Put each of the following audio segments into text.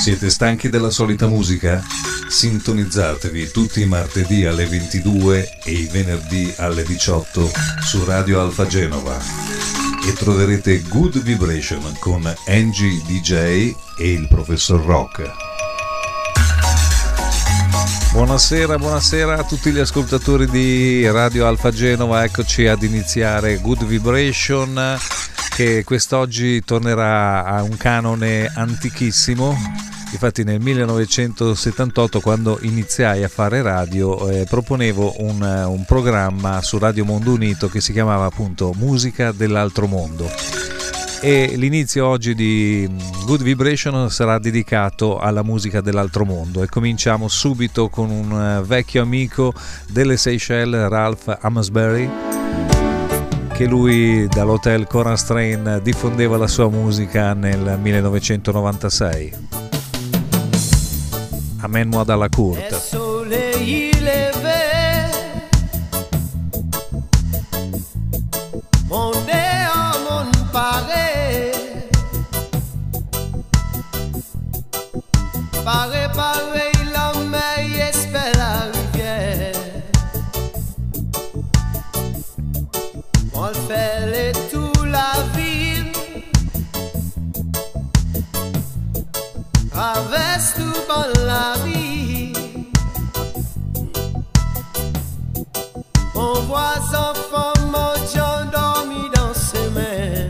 Siete stanchi della solita musica? Sintonizzatevi tutti i martedì alle 22 e i venerdì alle 18 su Radio Alfa Genova e troverete Good Vibration con Angie DJ e il Professor Rock. Buonasera a tutti gli ascoltatori di Radio Alfa Genova, eccoci ad iniziare Good Vibration, che quest'oggi tornerà a un canone antichissimo. Infatti nel 1978, quando iniziai a fare radio, proponevo un programma su Radio Mondo Unito che si chiamava appunto Musica dell'altro mondo, e l'inizio oggi di Good Vibration sarà dedicato alla musica dell'altro mondo, e cominciamo subito con un vecchio amico delle Seychelles, Ralph Amsbury, che lui dall'hotel Coran Strain diffondeva la sua musica nel 1996. Amène-moi dans la courte. Paré, la mer espère la rivière. On le fait les tout la ville, traverse tout bon la vie. On voit enfants mendiants dormis dans ses mains.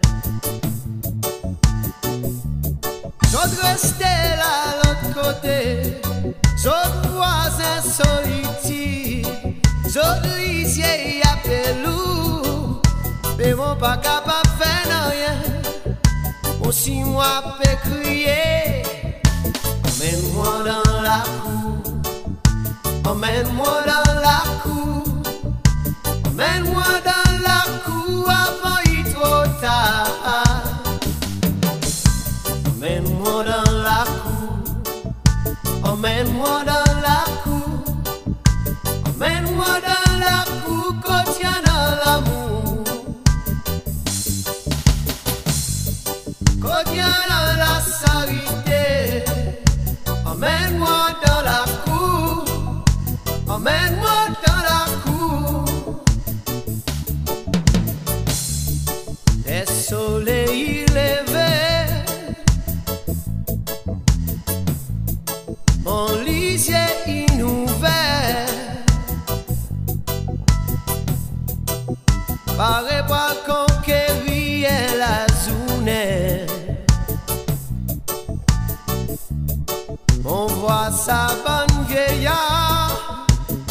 J'autre restais là l'autre côté, j'autre voisin solitude, j'autre lisier y appelle loup, mais mon pas capable de faire rien. Aussi moi peux crier, emmène-moi dans la cour, emmène-moi dans la cour, emmène-moi dans la cour avant il trop tard. Emmène-moi dans la cour, emmène-moi dans la cour, emmène-moi dans la cour, quand il y a dans l'amour, quand il y a dans la charité. Emmène-moi dans la cour, emmène-moi dans la cour. Les soleils levés, mon lisier inouvert, paraît pas conquérir la journée. On voit sa bonne vieillard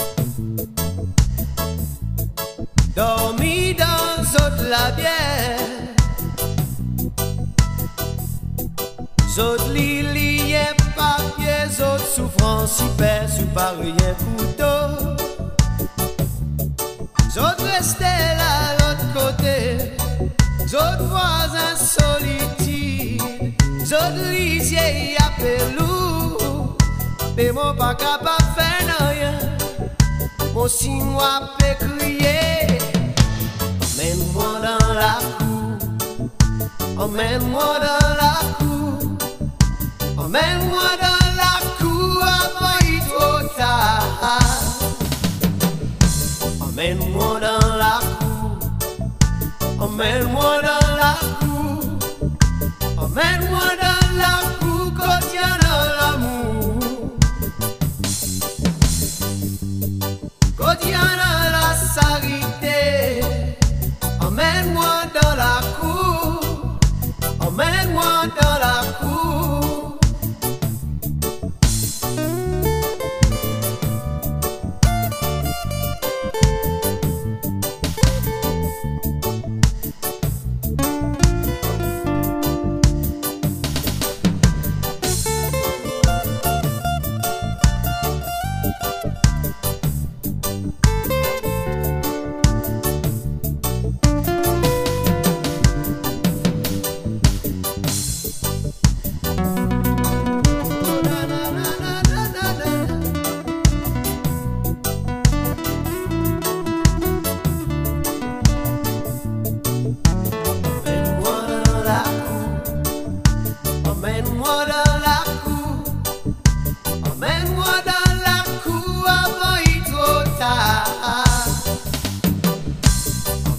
dormi dans zot la bière, zot lili et papier, zot souffrance hyper sous par rien couteau, zot restait là l'autre côté, zot voisin solitude, zot lisier y appelle loup, mais mon pas capable de faire rien. Mon si moi peux crier, emmène-moi dans la cour, emmène-moi dans la cour, emmène-moi dans la cour avant il trop tard. Emmène-moi dans la cour, emmène-moi dans la cour, emmène-moi dans la cour, quand il y a dans l'amour, quand il y a dans la charité. Emmène-moi dans la cour, emmène-moi dans la cour.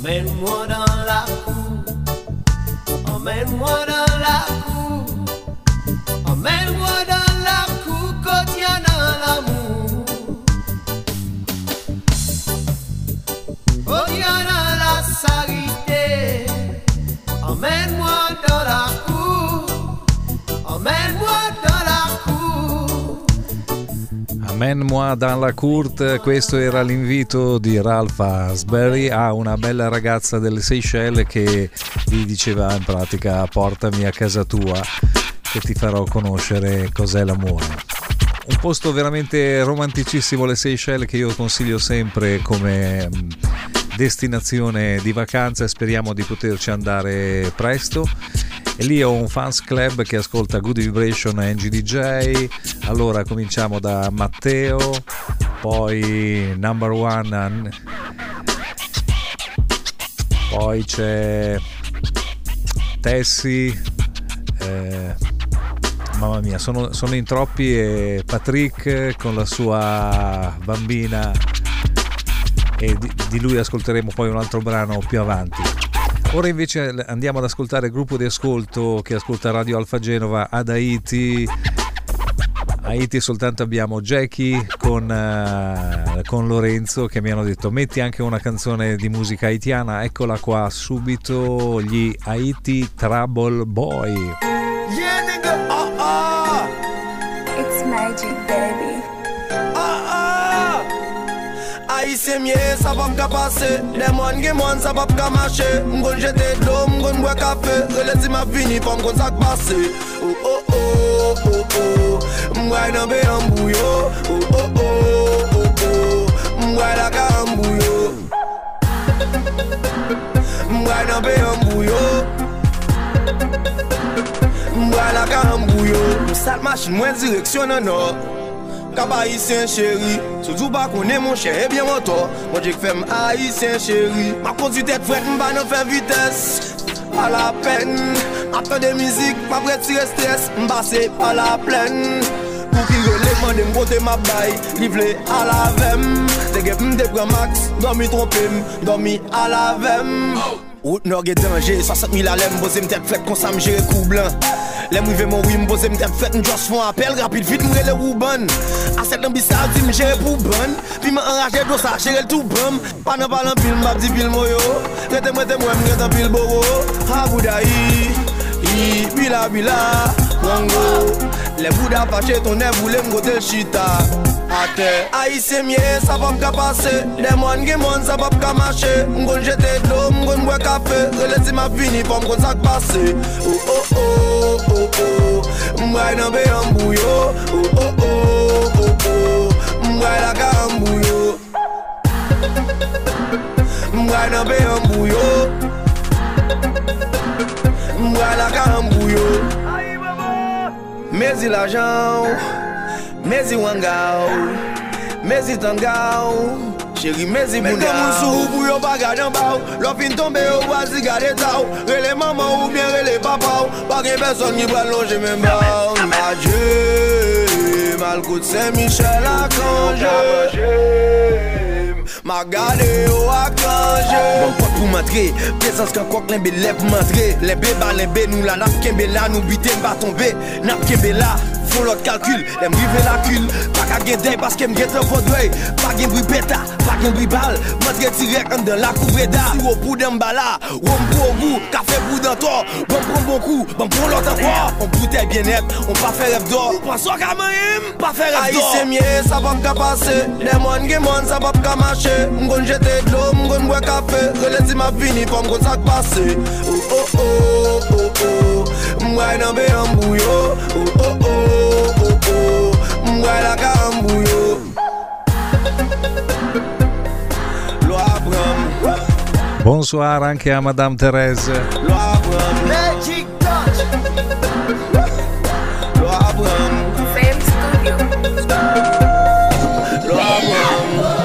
emmène-moi dans la cour, emmène-moi dans la cour, emmène-moi dans la cour, quand il y a dans l'amour, quand il y a dans la charité, emmène-moi dans la cour, emmène-moi dans la cour. Emmène-moi dans la cour, questo era l'invito di Ralph Asbury a una bella ragazza delle Seychelles che gli diceva in pratica portami a casa tua che ti farò conoscere cos'è l'amore. Un posto veramente romanticissimo, le Seychelles, che io consiglio sempre come destinazione di vacanza e speriamo di poterci andare presto. E lì ho un fans club che ascolta Good Vibration e NGDJ. Allora cominciamo da Matteo, poi Number One, poi c'è Tessie, mamma mia, sono in troppi, e Patrick con la sua bambina, e di lui ascolteremo poi un altro brano più avanti. Ora invece andiamo ad ascoltare il gruppo di ascolto che ascolta Radio Alfa Genova ad Haiti. Haiti soltanto abbiamo Jackie con Lorenzo che mi hanno detto metti anche una canzone di musica haitiana. Eccola qua subito, gli Haiti Trouble Boy. Yeah, nigga, It's magic, baby. Haïtien mieux, ça va m'ka passer. Les moines qui moines, ça va m'ka marcher. M'gon jeter de l'eau, m'gon boire café. Relais m'a fini, pas m'gon ça passer. Oh oh oh oh oh. M'goy nan be en bouillot. Oh oh oh oh oh. M'goy la ka en bouillot. M'goy nan be en bouillot. M'goy la ka en bouillot. M'sat machine, moins direction nan nord. Cap haïtien chéri, surtout pas qu'on est mon cher et bien mon tort. Moi j'ai fait haïtien chéri. Ma conduite tête frette, m'ba nan faire vitesse. Pas la peine, après de musique, pas prêt de tirer stress. M'ba c'est pas la plaine. Pour qu'il relève, m'en côté ma baille. Livré à la vem. T'es que m'de prend max, dormi trompé, dormi à la vem. Route nord est danger, 60 000 à l'aime, posé m'tête frette, qu'on s'am gère coup blanc. Les mouillés mon oui m'pose m'tête fête m'just font appel rapide vite m'rele le rouban. A cette ambissade dit m'gère pour bonne. Puis m'enragé do ça gérer tout bam. Pas nan parlant pile m'a dit pile moyo. Rete moi m'rete pile boro. Ha boudaï. I bila wango. Les boudas fâchés ton nez voulait m'goter chita. Haïtien mieux, ça va m'ka passer. Les moines qui moines, ça va m'ka marcher. M'gon jeter de l'eau, m'gon boire café. Relais m'a fini, pas m'gon ça passer. Oh oh oh oh oh. M'goy nan be en bouillot. Oh oh oh oh oh. M'goy la ka en bouillot. M'goy nan be en bouillot. M'goy la ka en bouillot. Mezi l'argent. Mezi wangao, mezi tangao, chéri mezi boudao. Mette moun sou pou yo bagaj en bao. L'on fin tombe yo wazi gade tao. Rele maman ou bien rele papa. Pas gen personne qui va longer même bao. Adieu, mal koute Saint-Michel a congé. Ma gade yo a congé. Bon pot pou m'entrer, présence qu'un coq l'embe lève pour m'entrer. L'embe ba l'embe nous la nap kembe la. Nou bite m'ba tomber, nap kembe la. Font l'autre calcul, les m'rive la cul. Pas qu'à guetter parce qu'elle m'guette le faudoué. Pas qu'un bruit bêta, pas qu'un bruit balle. M'entre direct en dans la couvreda. Si au bout d'un bala, ou on pour au goût. Café bout d'un tort, bon prend bon coup. Bon prend l'autre encore. On bouteille bien net, on pas faire rêve d'or. Pas soit qu'à m'aime, pas faire rêve d'or. Haïtien mieux, ça va m'ka passer. Les moines qui moines, ça va m'ka marcher. M'gon jeter de l'eau, m'gon boire café. Relais m'a fini, pas m'gon ça passer. Oh oh oh oh oh. M'goy nan be en bouillot. Oh oh oh oh oh. M'goy la ka en bouillot. Lo Abram. Bonsoir anche a Madame Thérèse. Lo Abram. Magic touch. Lo Abram. Fame Studio. Lo Abram.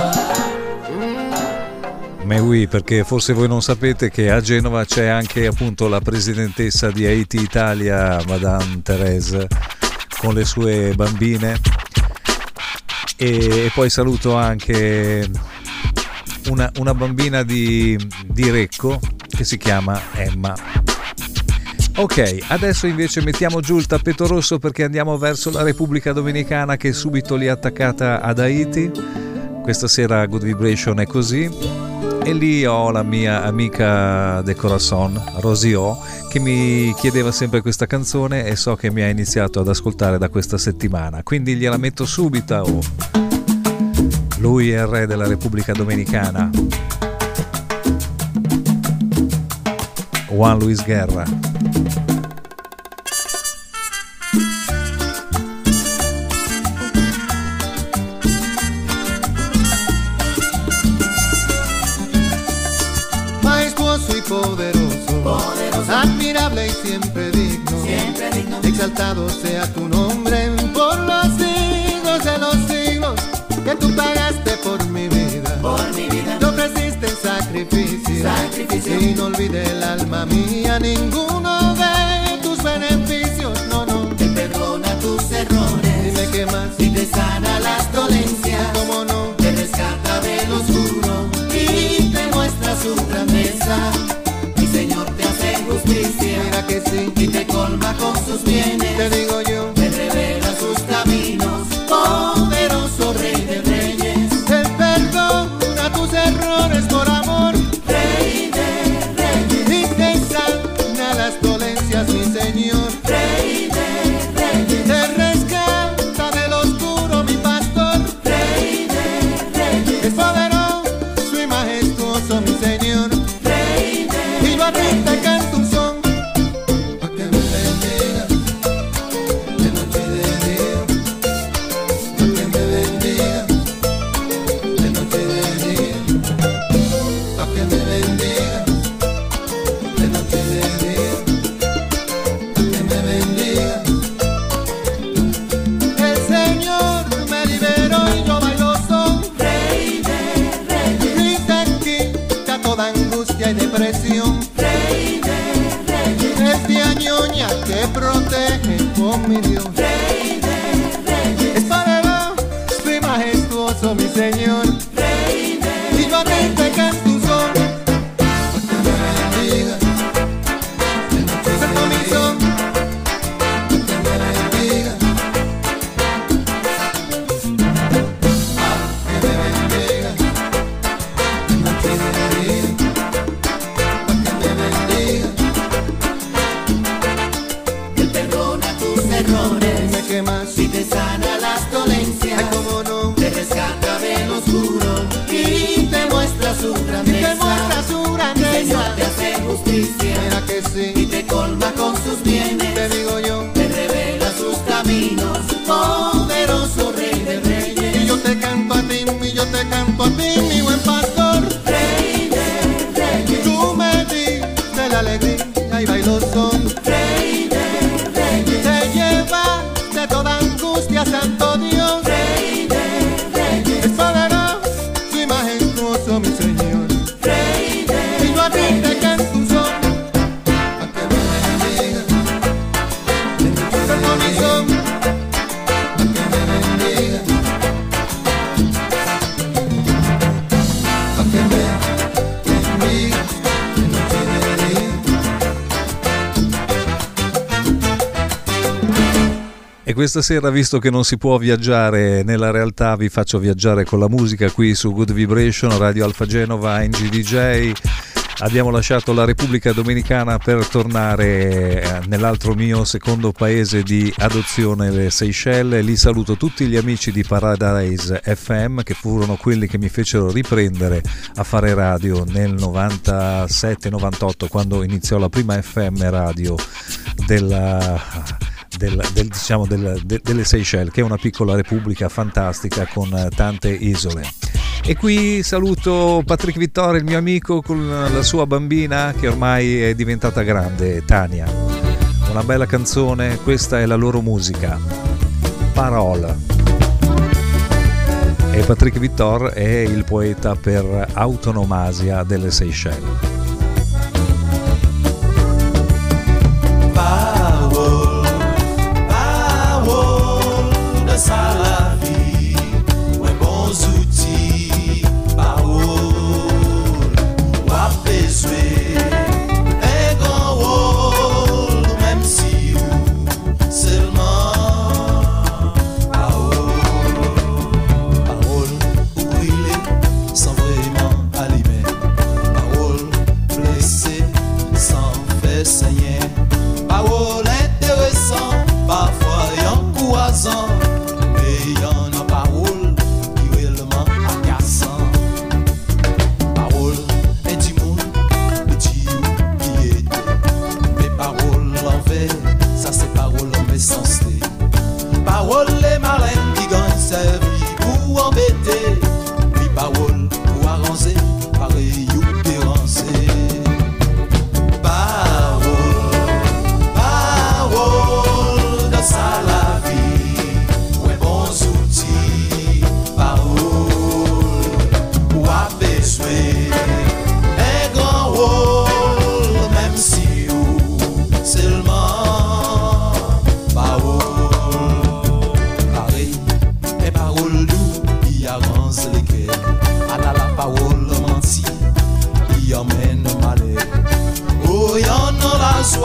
Mais oui, perché forse voi non sapete che a Genova c'è anche appunto la presidentessa di Haiti Italia, Madame Thérèse, con le sue bambine. E poi saluto anche una bambina di Recco che si chiama Emma. Ok, adesso invece mettiamo giù il tappeto rosso perché andiamo verso la Repubblica Dominicana, che è subito lì attaccata ad Haiti. Questa sera Good Vibration è così, e lì ho la mia amica de corazon, Rosio, che mi chiedeva sempre questa canzone e so che mi ha iniziato ad ascoltare da questa settimana, quindi gliela metto subito. Lui è il re della Repubblica Dominicana, Juan Luis Guerra. Poderoso, admirable y siempre digno, exaltado sea tu nombre por los siglos de los siglos, que tú pagaste por mi vida, te ofreciste en sacrificio, y no olvide el alma mía ninguno de tus beneficios, no, te perdona tus errores, dime qué más, y te sana las dolencias, cómo no, te rescata del oscuro, y te muestra su grandeza. Mira que sí, y te colma con sus bienes, te digo yo, te revela sus caminos, poderoso Rey de Reyes, te perdona tus errores por amor, Rey de Reyes, y te sana las dolencias, mi Señor, Rey de Reyes, te rescata del oscuro, mi pastor, Rey de Reyes, es poderoso y majestuoso, mi Señor, Rey de Reyes, y yo a ti te canto. Rey de Reyes, es mi añoña que protege con mi Dios. Rey de Reyes, es poderoso y majestuoso mi Señor. Rey de Reyes, y yo a ti te canto un son, porque me bendiga, santo mi son, porque me bendiga, que me bendiga, de noche y de día. Si te sana las dolencias, ay, cómo no, te rescata del oscuro y te muestra su grandeza. El Señor te hace justicia, mira que sí, y te colma con sus bienes, te digo yo, te revela sus caminos, poderoso Rey de Reyes. Y yo te canto a ti, y yo te canto a ti, mi buen pastor, Rey de Reyes. Tú me diste la alegría y bailo son, Rey de Reyes. Te lleva de toda angustia, santo Dios, Rey de Reyes, es poderoso y majestuoso mi Señor, Rey de Reyes, y yo a ti te canto un son, pa' que me bendiga, santo mi son, pa' que me bendiga, pa' que me bendiga, de noche y de día. E questa sera, visto che non si può viaggiare nella realtà, vi faccio viaggiare con la musica qui su Good Vibration, Radio Alfa Genova, NGDJ. Abbiamo lasciato la Repubblica Dominicana per tornare nell'altro mio secondo paese di adozione, le Seychelles. Lì saluto tutti gli amici di Paradise FM, che furono quelli che mi fecero riprendere a fare radio nel 97-98, quando iniziò la prima FM radio delle Seychelles, che è una piccola repubblica fantastica con tante isole. E qui saluto Patrick Vittori, il mio amico, con la sua bambina che ormai è diventata grande, Tania. Una bella canzone, questa è la loro musica, Parole. E Patrick Vittori è il poeta per autonomasia delle Seychelles. Ça la vie, ouais, bons outils, parole.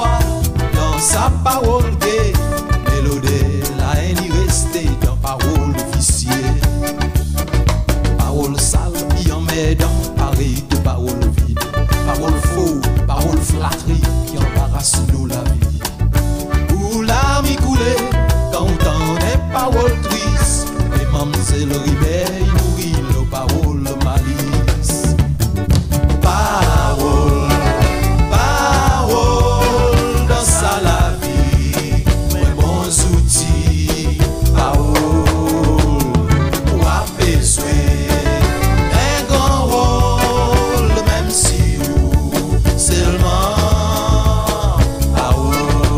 foi dans sa parole gaie. Mélodie, la haine y restait dans parole officielle. Parole sale, y en met dans pareil de parole vide. Parole faux, parole flatterie qui embarrasse nous la vie. Où l'arme coulée, quand on est parole triste, et mamzelle réveille, nourrit nos paroles malice. Parole, parole, dans ça la vie, mes bons outils, parole, pour apaiser. Un grand rôle, même si vous seulement parole.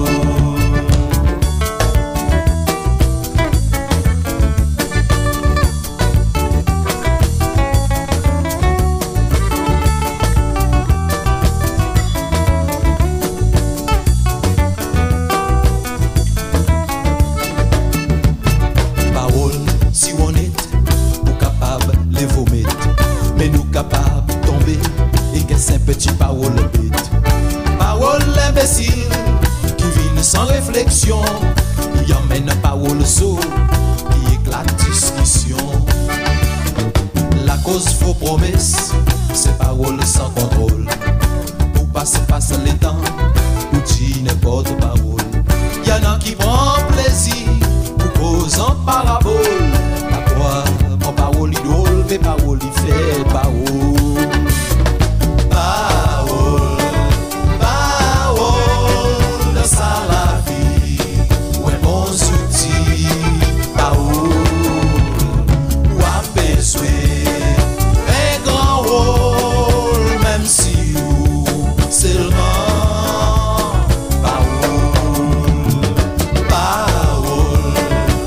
Parole, si on est, nous capables les vomir, mais nous capables de tomber et qu'est-ce un petit parole bête. Parole imbécile qui vient sans réflexion, il emmène parole saut, qui éclate discussion. La cause faux promesse, c'est parole sans contrôle. Pour passer les temps, ou dire n'importe parole. Y en a qui prend plaisir pour cause en parabole. À quoi mon parole idole, mes paroles y fait parole. Parole, parole, dans ça la vie, ouais bon outil, parole, ou apaiser, un grand rôle, même si vous seulement parole, parole,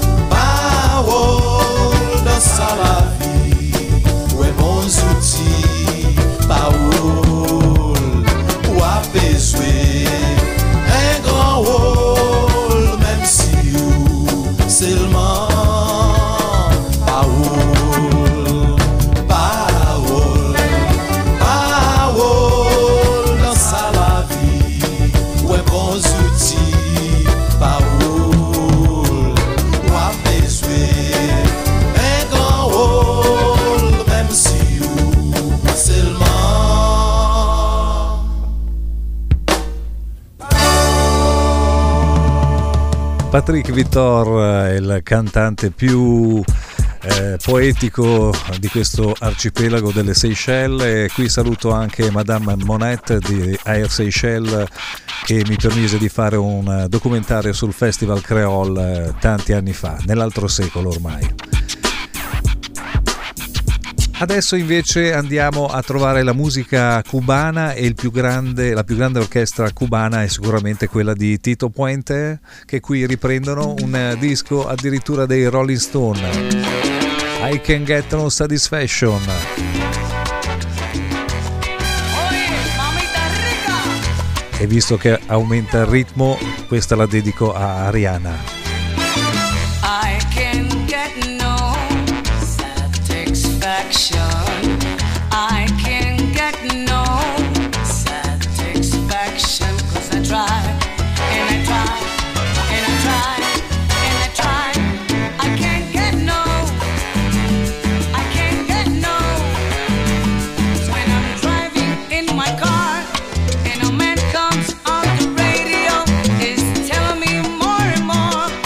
parole, dans ça la vie, ouais bon outil, parole, ou apaiser, un grand rôle, même si vous seulement parole, parole, parole, dans ça la vie, ouais bons outils, parole, ou apaiser, un grand rôle, même si vous seulement. Patrick Victor, il cantante più poetico di questo arcipelago delle Seychelles, e qui saluto anche Madame Monette di Air Seychelles, che mi permise di fare un documentario sul Festival Creole tanti anni fa, nell'altro secolo ormai. Adesso invece andiamo a trovare la musica cubana, e la più grande orchestra cubana è sicuramente quella di Tito Puente, che qui riprendono un disco addirittura dei Rolling Stone, I Can Get No Satisfaction. E visto che aumenta il ritmo, questa la dedico a Ariana. I can get no satisfaction. I can get no satisfaction, 'cause I try and I try and I try and I try. I can't get no, I can't get no. So when I'm driving in my car and a man comes on the radio, is telling me more and more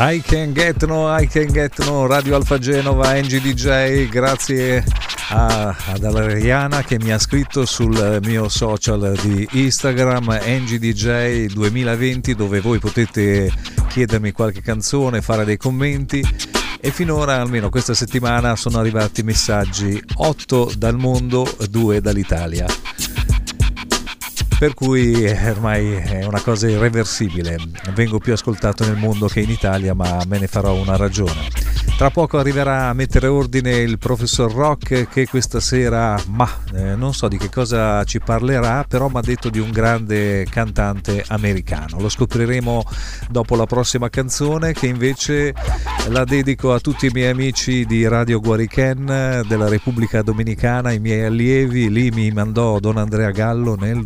I Can Get No, Radio Alfa Genova, NGDJ, grazie ad Ariana che mi ha scritto sul mio social di Instagram, NGDJ 2020, dove voi potete chiedermi qualche canzone, fare dei commenti, e finora, almeno questa settimana, sono arrivati messaggi 8 dal mondo, 2 dall'Italia. Per cui ormai è una cosa irreversibile, vengo più ascoltato nel mondo che in Italia, ma me ne farò una ragione. Tra poco arriverà a mettere ordine il professor Rock, che questa sera, non so di che cosa ci parlerà, però mi ha detto di un grande cantante americano. Lo scopriremo dopo la prossima canzone, che invece la dedico a tutti i miei amici di Radio Guarichen della Repubblica Dominicana, i miei allievi. Lì mi mandò Don Andrea Gallo nel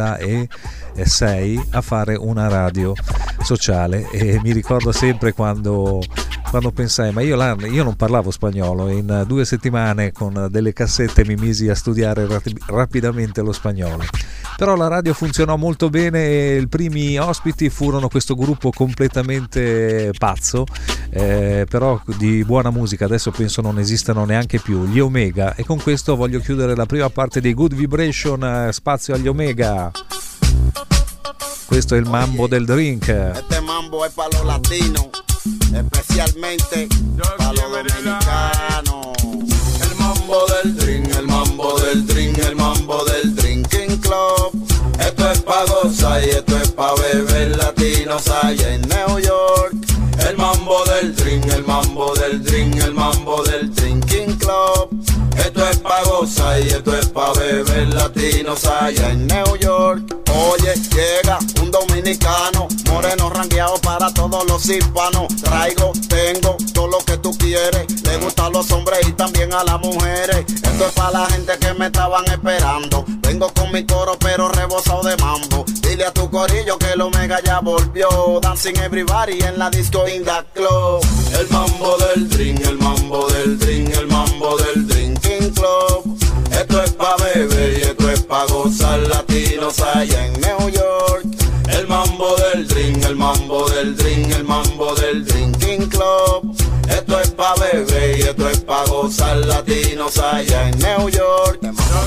2006 a fare una radio sociale, e mi ricordo sempre quando pensai, ma io non parlavo spagnolo, in 2 settimane con delle cassette mi misi a studiare rapidamente lo spagnolo. Però la radio funzionò molto bene e i primi ospiti furono questo gruppo completamente pazzo, però di buona musica. Adesso penso non esistano neanche più, gli Omega, e con questo voglio chiudere la prima parte di Good Vibration, spazio agli Omega. Questo è il mambo del drink. Este mambo es para los latinos, especialmente para los dominicanos. El mambo del drink, el mambo del drink, el mambo del drinking club. Esto es pa' gozar y esto es pa' beber, latinos allá en New York. El mambo del drink, el mambo del drink, el mambo del drinking club. Esto es pa' gozar y esto es pa' beber, latinos allá en New York. Oye, llega un dominicano, moreno rangueado para todos los hispanos. Tengo todo lo que tú quieres. Le gustan a los hombres y también a las mujeres. Esto es para la gente que me estaban esperando. Vengo con mi coro pero rebosado de mambo. Dile a tu corillo que el Omega ya volvió. Dancing everybody en la disco in the club. El mambo del drink, el mambo del drink, el mambo del drinking club. Esto es pa' beber y esto es pa' gozar, latinos allá en New York. El mambo del drink, el mambo del drink, el mambo del drinking club. Esto es pa' beber y esto es pa' gozar, latinos allá en New York.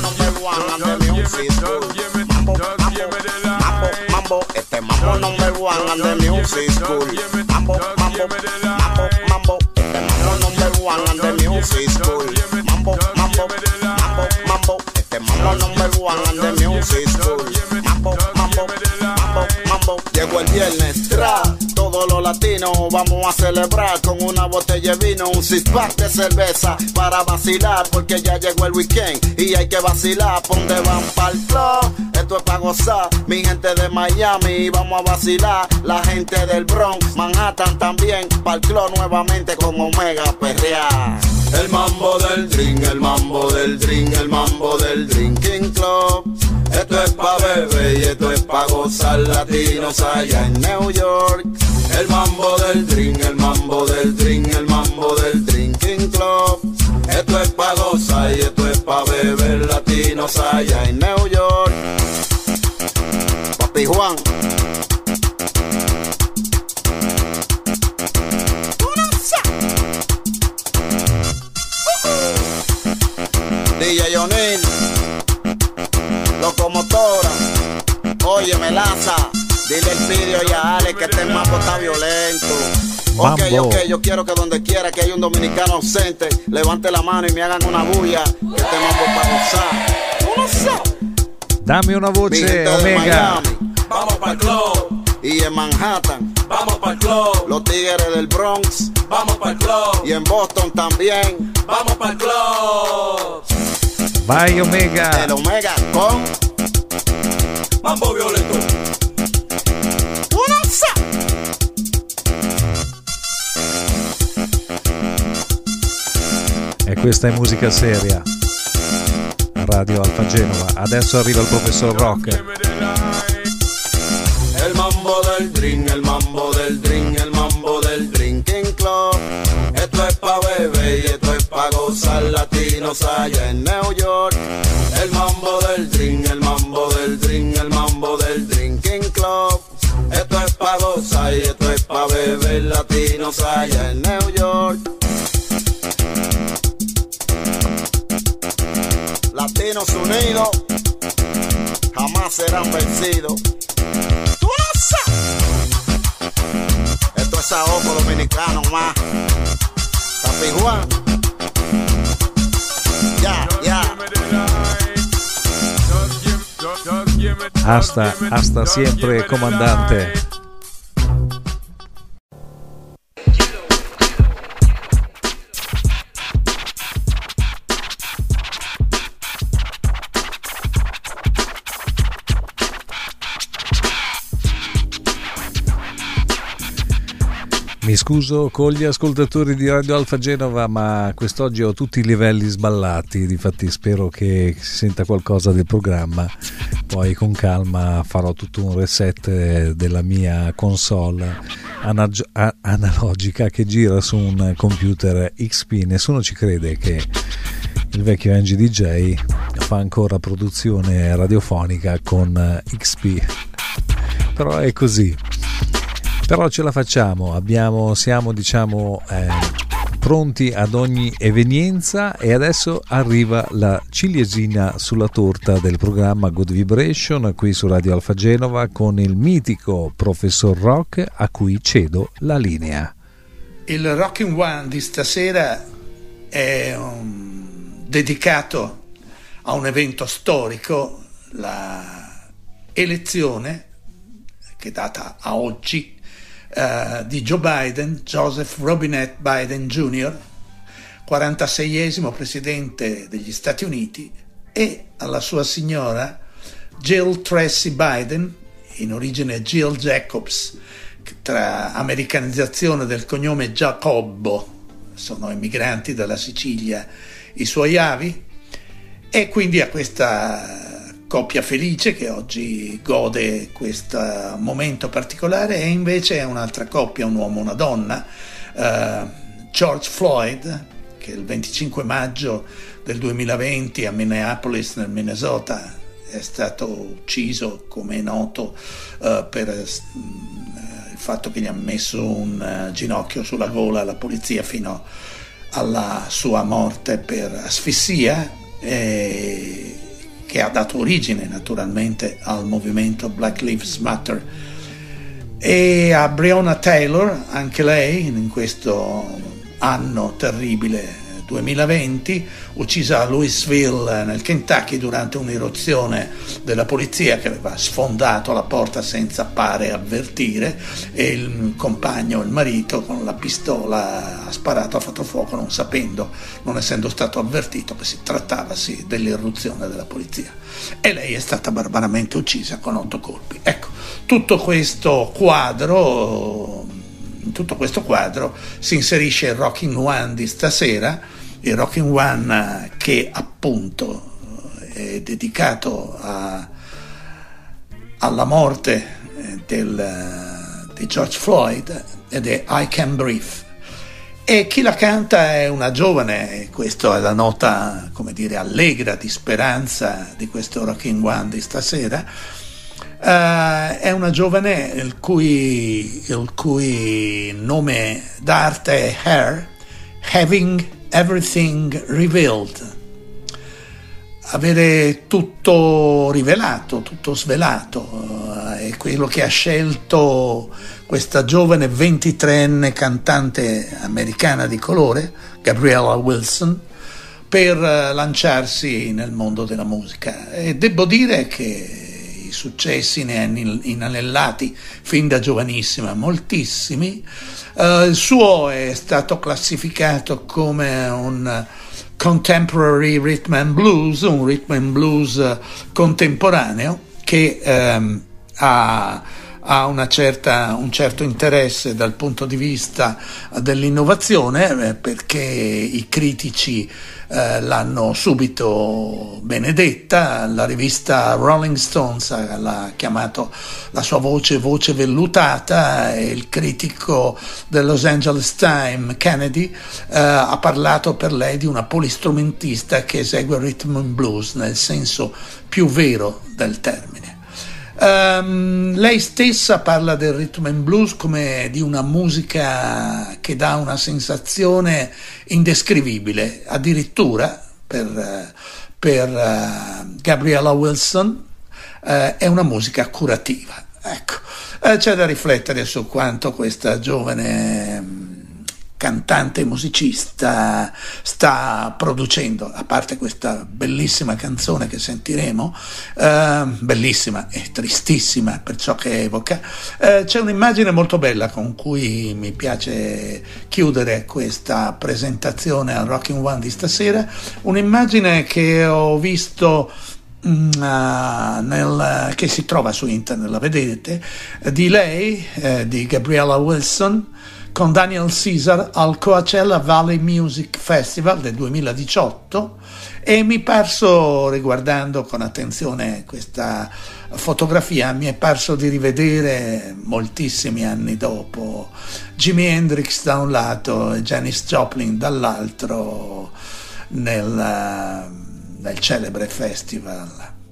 Mambo, mambo, este mambo number one and the music school. Mambo, mambo, mambo, mambo, este mambo number one and the music school. Mambo, mambo, mambo, mambo, este mambo number one and the music school. Mambo, mambo, mambo, mambo. Llegó el viernes, todos los latinos vamos a celebrar con una botella de vino, un six-pack de cerveza para vacilar, porque ya llegó el weekend y hay que vacilar. ¿Dónde van pa'l club? Esto es pa' gozar, mi gente de Miami, vamos a vacilar. La gente del Bronx, Manhattan también, pa'l club nuevamente con Omega perrear. El mambo del drink, el mambo del drink, el mambo del drinking club. Esto es pa' beber y esto es pa' gozar, latinos allá en New York. El mambo del drink, el mambo del drink, el mambo del drinking club. Esto es pa' gozar y esto es pa' beber, latinos allá en New York. Papi Juan. DJ O'Neill, locomotora, oye Melaza, dile el Pidio y a Alex que este mambo está violento. Ok, yo quiero que donde quiera que haya un dominicano ausente, levante la mano y me hagan una bulla, que este mambo es para gozar. Dame una voce, Omega. Miami, vamos para el club. Y en Manhattan, vamos para el club. Los tigres del Bronx, vamos para el club. Y en Boston también, vamos para el club. Vai Omega. El Omega con mambo violento. E questa è musica seria. Radio Alfa Genova. Adesso arriva il professor Rock. El mambo del drink, el mambo del drink, el mambo del drinking club. Esto es pa' beber y esto es pa' gozar, latinos allá en New York. El mambo del drink, el mambo del drink, el mambo del drinking club. Esto es pa' pa' gozar y esto es pa' beber latinos allá en New York. Latinos unidos jamás serán vencidos. ¡Tú no sabes! Esto es ahogo dominicano más. Papi Juan. Ya, ya. Hasta siempre, comandante. Mi scuso con gli ascoltatori di Radio Alfa Genova, ma quest'oggi ho tutti i livelli sballati, difatti spero che si senta qualcosa del programma. Poi con calma farò tutto un reset della mia console analogica che gira su un computer XP. Nessuno ci crede che il vecchio Angie DJ fa ancora produzione radiofonica con XP, però è così. Però ce la facciamo, siamo pronti ad ogni evenienza, e adesso arriva la ciliegina sulla torta del programma Good Vibration qui su Radio Alfa Genova con il mitico Professor Rock, a cui cedo la linea. Il Rockin' One di stasera è dedicato a un evento storico, la elezione che è data a oggi di Joe Biden, Joseph Robinette Biden Jr., 46esimo presidente degli Stati Uniti, e alla sua signora Jill Tracy Biden, in origine Jill Jacobs, tra americanizzazione del cognome Giacobbo, sono immigranti dalla Sicilia i suoi avi, e quindi a questa coppia felice che oggi gode questo momento particolare. E invece è un'altra coppia, un uomo e una donna, George Floyd, che il 25 maggio del 2020 a Minneapolis nel Minnesota è stato ucciso, come è noto, per il fatto che gli ha messo un ginocchio sulla gola alla polizia fino alla sua morte per asfissia, che ha dato origine naturalmente al movimento Black Lives Matter, e a Breonna Taylor, anche lei in questo anno terribile 2020, uccisa a Louisville nel Kentucky durante un'irruzione della polizia che aveva sfondato la porta senza pare avvertire, e il compagno, il marito, con la pistola ha sparato, ha fatto fuoco non sapendo, non essendo stato avvertito che si trattavasi dell'irruzione della polizia, e lei è stata barbaramente uccisa con 8 colpi. Ecco, in tutto questo quadro si inserisce il Rockin' One di stasera, il Rockin' One che appunto è dedicato alla morte di George Floyd, ed è I Can Breathe, e chi la canta è una giovane, questa è la nota, come dire, allegra di speranza di questo Rockin' One di stasera. È una giovane il cui nome d'arte è Her, Having Everything Revealed, avere tutto rivelato, tutto svelato. È quello che ha scelto questa giovane 23enne cantante americana di colore, Gabriella Wilson, per lanciarsi nel mondo della musica. E devo dire che i successi ne ha inanellati fin da giovanissima, moltissimi. Il suo è stato classificato come un contemporary rhythm and blues, un rhythm and blues contemporaneo che ha un certo interesse dal punto di vista dell'innovazione, perché i critici l'hanno subito benedetta. La rivista Rolling Stones l'ha chiamato la sua voce vellutata, e il critico del Los Angeles Times, Kennedy, ha parlato per lei di una polistrumentista che esegue rhythm and blues nel senso più vero del termine. Lei stessa parla del rhythm and blues come di una musica che dà una sensazione indescrivibile, addirittura per Gabriella Wilson è una musica curativa. Ecco, c'è da riflettere su quanto questa giovane cantante e musicista sta producendo, a parte questa bellissima canzone che sentiremo, bellissima e tristissima per ciò che evoca. C'è un'immagine molto bella con cui mi piace chiudere questa presentazione al Rockin' One di stasera, un'immagine che ho visto che si trova su internet, la vedete, di lei, di Gabriella Wilson, con Daniel Caesar al Coachella Valley Music Festival del 2018, e mi è parso, riguardando con attenzione questa fotografia, mi è parso di rivedere moltissimi anni dopo Jimi Hendrix da un lato e Janis Joplin dall'altro nel celebre festival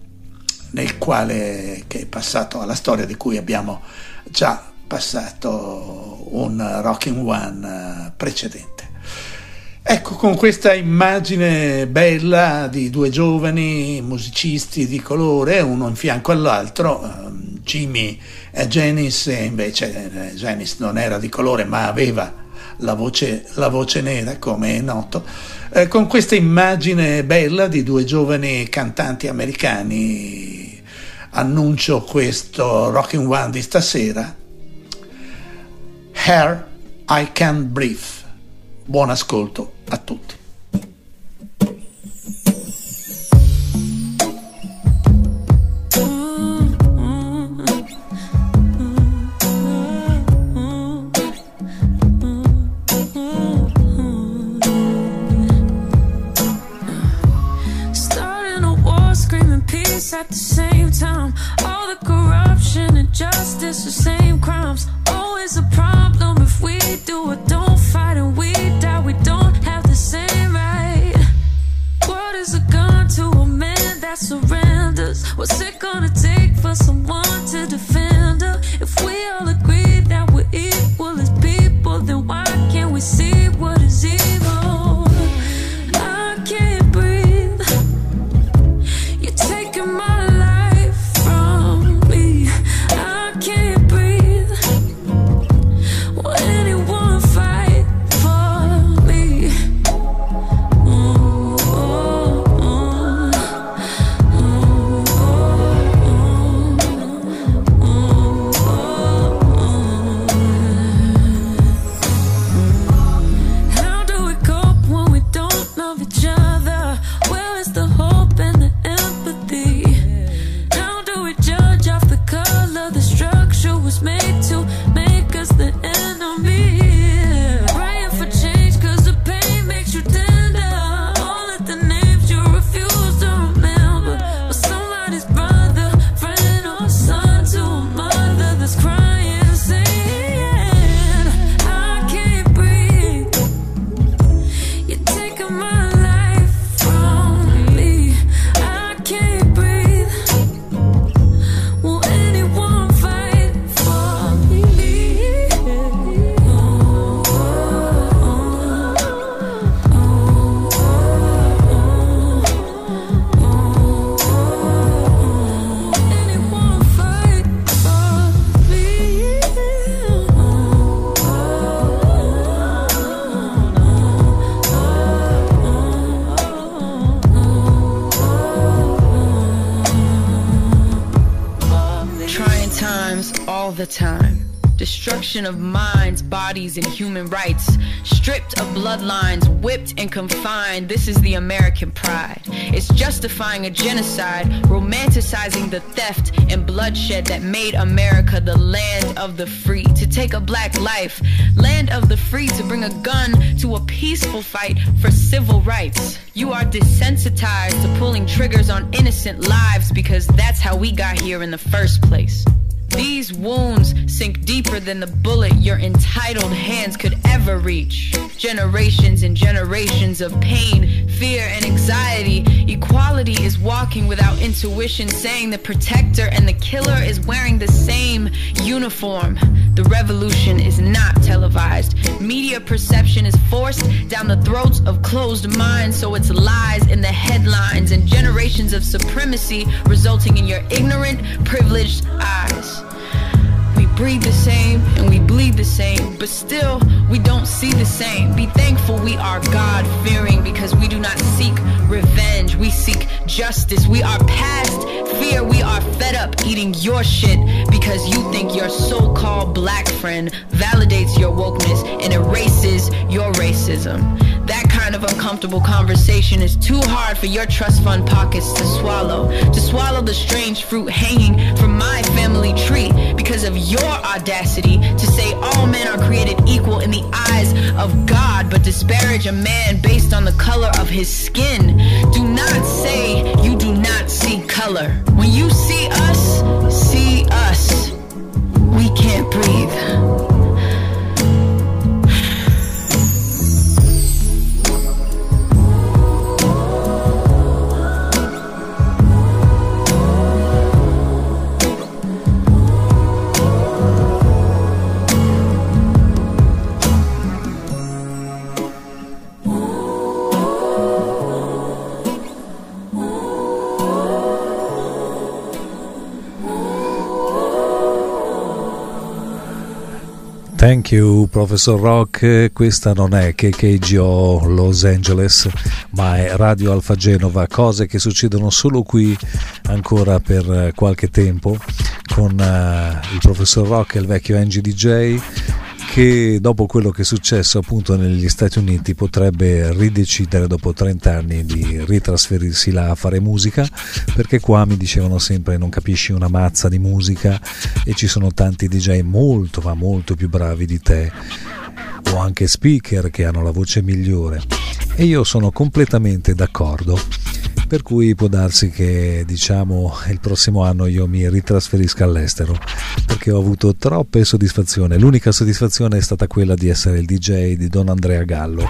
che è passato alla storia, di cui abbiamo già passato un Rockin' One precedente. Ecco, con questa immagine bella di due giovani musicisti di colore, uno in fianco all'altro, Jimmy e Janis, e invece Janis non era di colore ma aveva la voce nera, come è noto. Con questa immagine bella di due giovani cantanti americani annuncio questo Rockin' One di stasera, Here I Can't Breathe. Buon ascolto a tutti. At the same time, all the corruption and justice, the same crimes. Always a problem if we do or don't fight and we die. We don't have the same right. What is a gun to a man that surrenders? What's it gonna take for someone to defend her? If we all agree that we're equal as people, then why can't we see what is evil? I can't breathe. You're taking my life from me. I can't breathe. Will anyone fight for me? How do we cope when we don't love each other? Where is the hope and the empathy? How do we judge off the color? The structure was made to make us the enemy. Praying for change cause the pain makes you tender. All of the names you refuse to remember, but somebody's brother, friend or son to a mother that's crying, saying I can't breathe. You're taking my life from me. I can't breathe. Will anyone fight for me? Anyone fight for me? Trying times all the time. Destruction of minds, bodies, and human rights. Stripped of bloodlines, whipped and confined. This is the American pride. It's justifying a genocide, romanticizing the theft and bloodshed that made America the land of the free. To take a black life, land of the free, to bring a gun to a peaceful fight for civil rights. You are desensitized to pulling triggers on innocent lives because that's how we got here in the first place. These wounds sink deeper than the bullet your entitled hands could ever never reach. Generations and generations of pain, fear, and anxiety. Equality is walking without intuition, saying the protector and the killer is wearing the same uniform. The revolution is not televised. Media perception is forced down the throats of closed minds, so it's lies in the headlines and generations of supremacy resulting in your ignorant, privileged eyes. We breathe the same and we bleed the same, but still we don't see the same. Be thankful we are God-fearing, because we do not seek revenge, we seek justice. We are past fear, we are fed up eating your shit because you think your so-called black friend validates your wokeness and erases your racism. That kind of uncomfortable conversation is too hard for your trust fund pockets to swallow. To swallow the strange fruit hanging from my family tree because of your audacity to say all men are created equal in the eyes of God, but disparage a man based on the color of his skin. Do not say you do not see color. When you see us, we can't breathe. Thank you, Professor Rock. Questa non è KKGO Los Angeles, ma è Radio Alfa Genova, cose che succedono solo qui ancora per qualche tempo, con il Professor Rock e il vecchio Angie DJ, che dopo quello che è successo appunto negli Stati Uniti potrebbe ridecidere dopo 30 anni di ritrasferirsi là a fare musica, perché qua mi dicevano sempre non capisci una mazza di musica e ci sono tanti DJ molto ma molto più bravi di te, o anche speaker che hanno la voce migliore, e io sono completamente d'accordo. Per cui può darsi che, diciamo, il prossimo anno io mi ritrasferisca all'estero, perché ho avuto troppe soddisfazioni. L'unica soddisfazione è stata quella di essere il DJ di Don Andrea Gallo,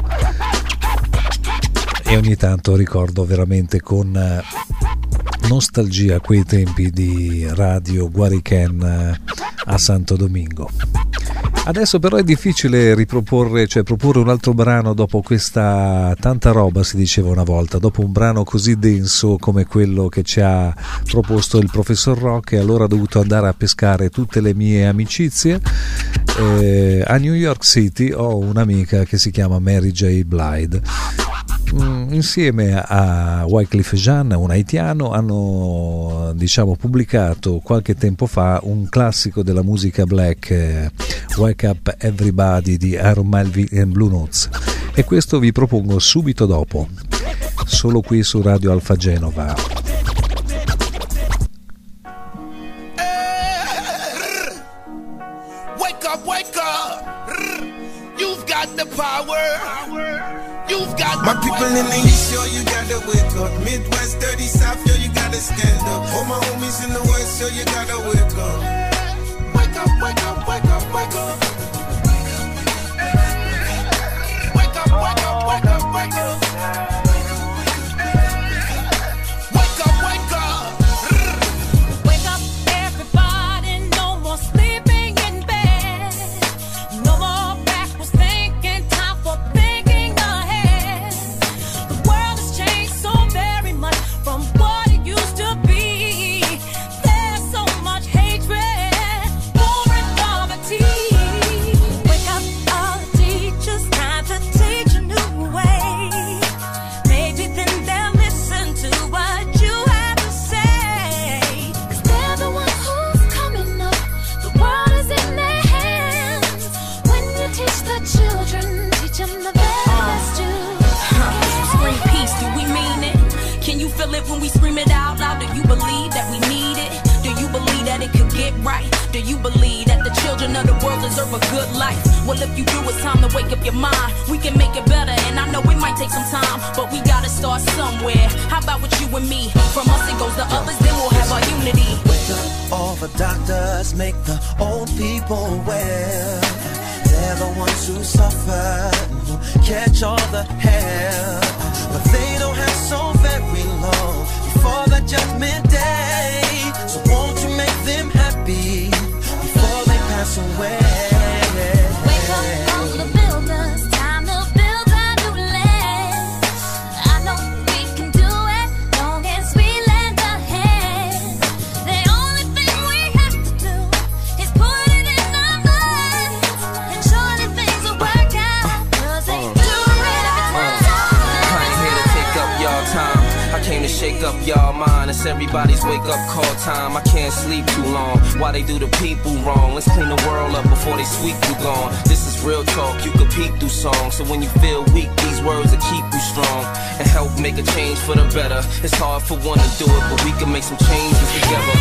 e ogni tanto ricordo veramente con nostalgia quei tempi di Radio Guarichen a Santo Domingo. Adesso però è difficile riproporre, cioè proporre un altro brano dopo questa tanta roba, si diceva una volta, dopo un brano così denso come quello che ci ha proposto il Professor Rock, e allora ho dovuto andare a pescare tutte le mie amicizie. A New York City ho un'amica che si chiama Mary J. Blige. Insieme a Wyclef Jean, un haitiano, hanno, diciamo, pubblicato qualche tempo fa un classico della musica black, Wake Up Everybody di Aaron Melvin and Blue Notes, e questo vi propongo subito dopo, solo qui su Radio Alfa Genova. Wake up, you've got the power. You've got my people in the east, yo, you gotta wake up. Midwest, dirty South, yo, you gotta stand up. All my homies in the west, yo, you gotta wake up. Wake up, wake up, wake up, wake up. Wake up, wake up, wake up, wake up. Wake up, wake up. Wake up, everybody, no more sleeping in bed. No more backwards thinking, time for thinking ahead. The world has changed so very much from what it used to be. There's so much hatred, war and poverty. Wake up, all the teachers, time to teach a new way. Maybe then they'll listen to what you have to say. 'Cause they're the one who's coming up. The world is in their hands. When you teach the children, teach them the very best you Scream peace, do we mean it? Can you feel it when we scream it out loud? Do you believe that we need it? Do you believe that it could get right? Do you believe that the children of the world deserve a good life? Well, if you do, it's time to wake up your mind. We can make it better, and I know it might take some time, but we gotta start somewhere. How about with you and me? From us it goes to others, then we'll have our unity. All the doctors make the old people well. They're the ones who suffer, who catch all the hell, but they don't have so very long before the judgment day. So won't you make them happy before they pass away? Wake up all the builders, time to build a new land. I know we can do it, long as we lend a hand. The only thing we have to do is put it in our minds, and surely things will work out, 'cause they do it every time. I ain't here to take up y'all time. I came to shake up y'all mind. It's everybody's wake up call time. I can't sleep too long. Why they do the people wrong? Let's clean the world up before they sweep you gone. This is real talk, you could peek through songs. So when you feel weak, these words will keep you strong and help make a change for the better. It's hard for one to do it, but we can make some changes together.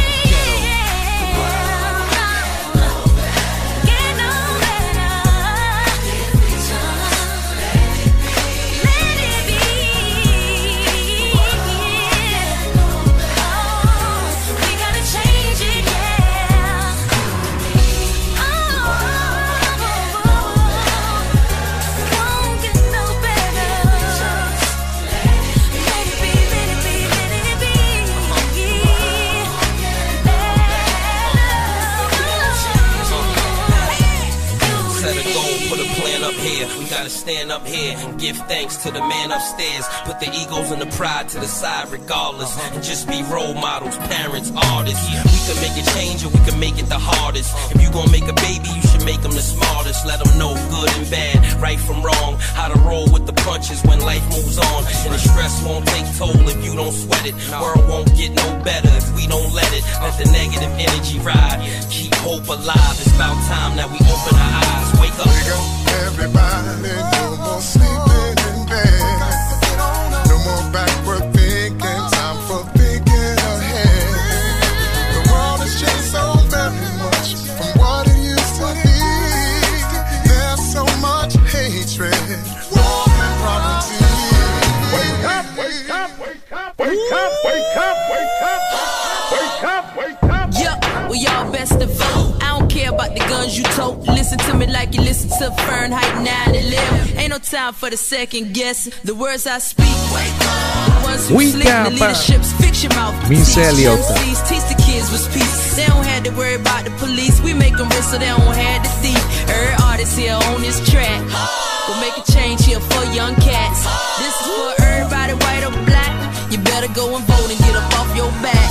We gotta stand up here and give thanks to the man upstairs. Put the egos and the pride to the side regardless, and just be role models, parents, artists. We can make a change or we can make it the hardest. If you gon' make a baby, you should make them the smartest. Let them know good and bad, right from wrong, how to roll with the punches when life moves on. And the stress won't take toll if you don't sweat it. World won't get no better if we don't let it. Let the negative energy ride, keep hope alive. It's about time that we open our eyes. Wake up. Everybody, no more sleeping in bed. No more backward thinking, time for thinking ahead. The world has changed so very much from what it used to be. There's so much hatred, war and poverty. Wake up, wake up, wake up, wake up, wake up, wake up, wake up, wake up. Yeah, well y'all best to vote. I don't care about the guns you tote. Listen to me like you listen to Fahrenheit 9/11. Ain't no time for the second guess. The words I speak, the ones who sleep, the leadership's fiction mouth. Teach the kids with peace. They don't have to worry about the police. We make them rich so they don't have the thief. Every artist here on this track. We'll make a change here for young cats. This is for everybody, white or black. You better go and vote and get up off your back.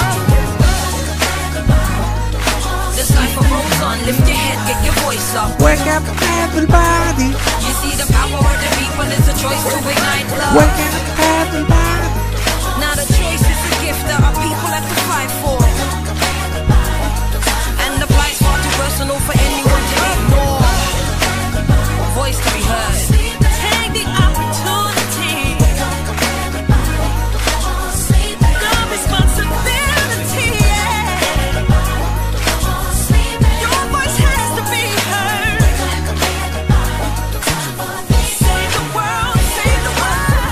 This life a rose on, lift your head, get your voice up. Wake up, everybody. You see the power of the people, it's a choice to ignite love. Wake up, everybody. Now the choice is a gift that our people have to fight for. And the fight's far too personal for anyone to ignore. Voice to be heard. Take the opportunity. The responsibility. Your voice has to be heard. Save the world, save the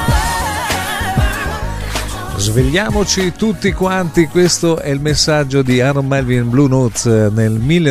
world. Svegliamoci tutti quanti, questo è il messaggio di Aaron Melvin Blue Notes nel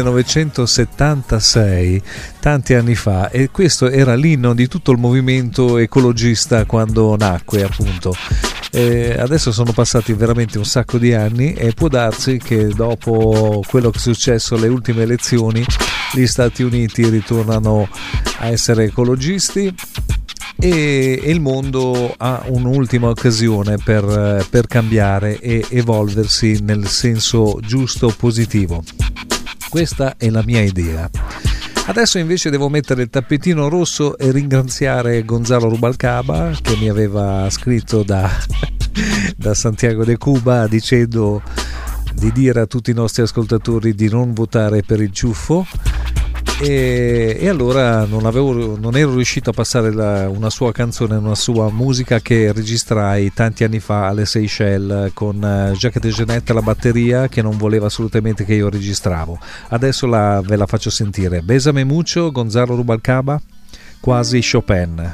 1976, tanti anni fa, e questo era l'inno di tutto il movimento ecologista quando nacque, appunto. Adesso sono passati veramente un sacco di anni e può darsi che dopo quello che è successo alle ultime elezioni gli Stati Uniti ritornano a essere ecologisti e il mondo ha un'ultima occasione per cambiare e evolversi nel senso giusto, positivo. Questa è la mia idea. Adesso invece devo mettere il tappetino rosso e ringraziare Gonzalo Rubalcaba, che mi aveva scritto da Santiago de Cuba dicendo di dire a tutti i nostri ascoltatori di non votare per il ciuffo. E allora non ero riuscito a passare una sua canzone, una sua musica che registrai tanti anni fa alle Seychelles con Jacques de Genette alla batteria, che non voleva assolutamente che io registravo. Adesso ve la faccio sentire. Besame mucho, Gonzalo Rubalcaba, quasi Chopin.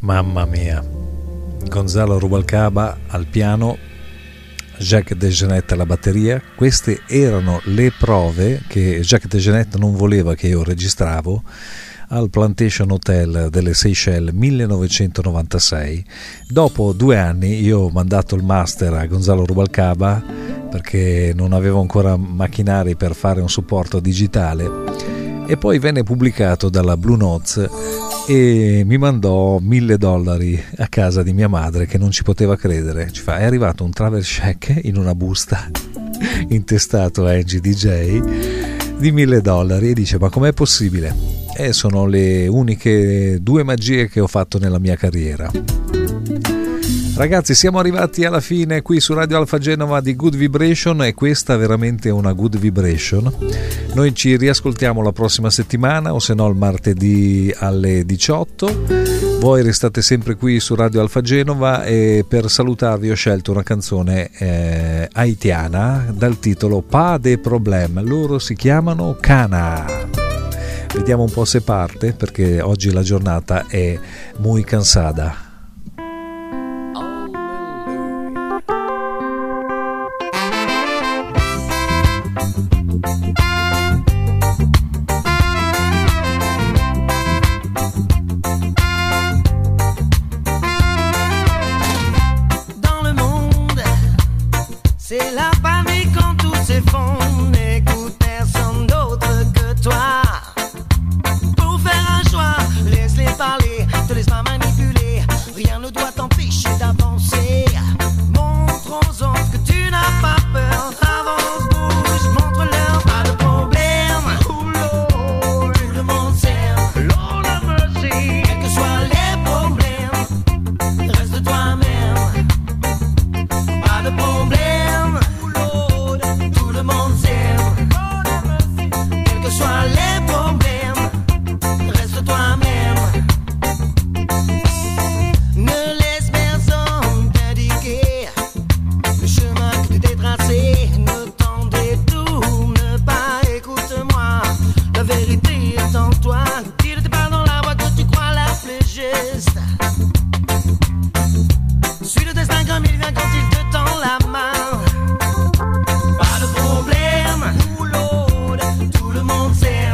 Mamma mia. Gonzalo Rubalcaba al piano, Jacques DeJohnette alla batteria. Queste erano le prove che Jacques DeJohnette non voleva che io registravo al Plantation Hotel delle Seychelles 1996. Dopo 2 anni io ho mandato il master a Gonzalo Rubalcaba perché non avevo ancora macchinari per fare un supporto digitale, e poi venne pubblicato dalla Blue Notes e mi mandò $1.000 a casa di mia madre, che non ci poteva credere. Ci fa: è arrivato un travel check in una busta intestato a Angie DJ di $1.000, e dice: ma com'è possibile? Sono le uniche 2 magie che ho fatto nella mia carriera. Ragazzi, siamo arrivati alla fine qui su Radio Alfa Genova di Good Vibration, e questa è veramente una good vibration. Noi ci riascoltiamo la prossima settimana, o se no il martedì alle 18. Voi restate sempre qui su Radio Alfa Genova, e per salutarvi ho scelto una canzone haitiana dal titolo Pas de Problème. Loro si chiamano Cana. Vediamo un po' se parte, perché oggi la giornata è muy cansada. C'est la panique quand tout s'effondre. N'écoute personne d'autre que toi. Pour faire un choix, laisse-les parler, te laisse pas manipuler. Rien ne doit t'empêcher d'avancer. Montre aux autres que tu n'as pas peur. Avance, bouge, montre-leur pas de problème. Tout le monde s'aime. Lord have mercy. Quels que soient les problèmes, reste toi-même. Pas de problème. Tout le monde s'aime. Quels que soient les problèmes, reste toi-même. Ne laisse personne t'indiquer le chemin que tu t'es tracé. Ne t'en détourne pas, écoute-moi. La vérité est en toi. Tire-toi pas dans la voie que tu crois la plus juste. Suis le destin comme il vient quand il te tend la main. Tout le monde s'aime.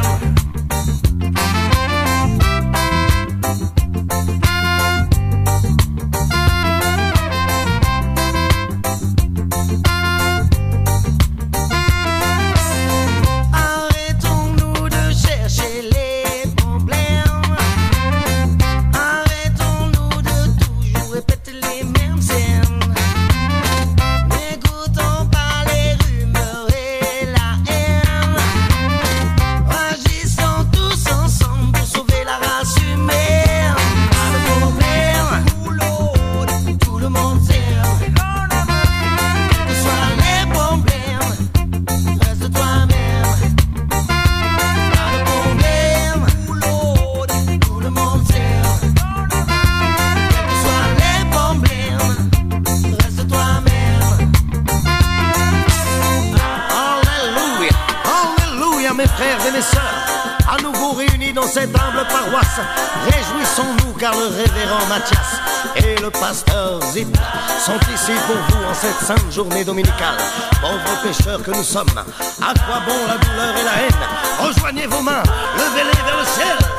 Arrêtons-nous de chercher les problèmes. Arrêtons-nous de toujours répéter les mêmes scènes. N'écoutons pas les rumeurs et la haine. Agissons tous ensemble pour sauver la race humaine. Pas de problème, tout le monde s'aime. Quels que soient les problèmes, reste toi-même. Pas de problème, tout le monde s'aime. Quels que soient les problèmes, reste toi-même. Alléluia, alléluia mes frères et mes sœurs, à nouveau réunis dans cette humble paroisse. Réjouissons-nous car le révérend Mathias et le pasteur Zip sont ici pour vous en cette sainte journée dominicale. Pauvres pécheurs que nous sommes, à quoi bon la douleur et la haine? Rejoignez vos mains, levez-les vers le ciel.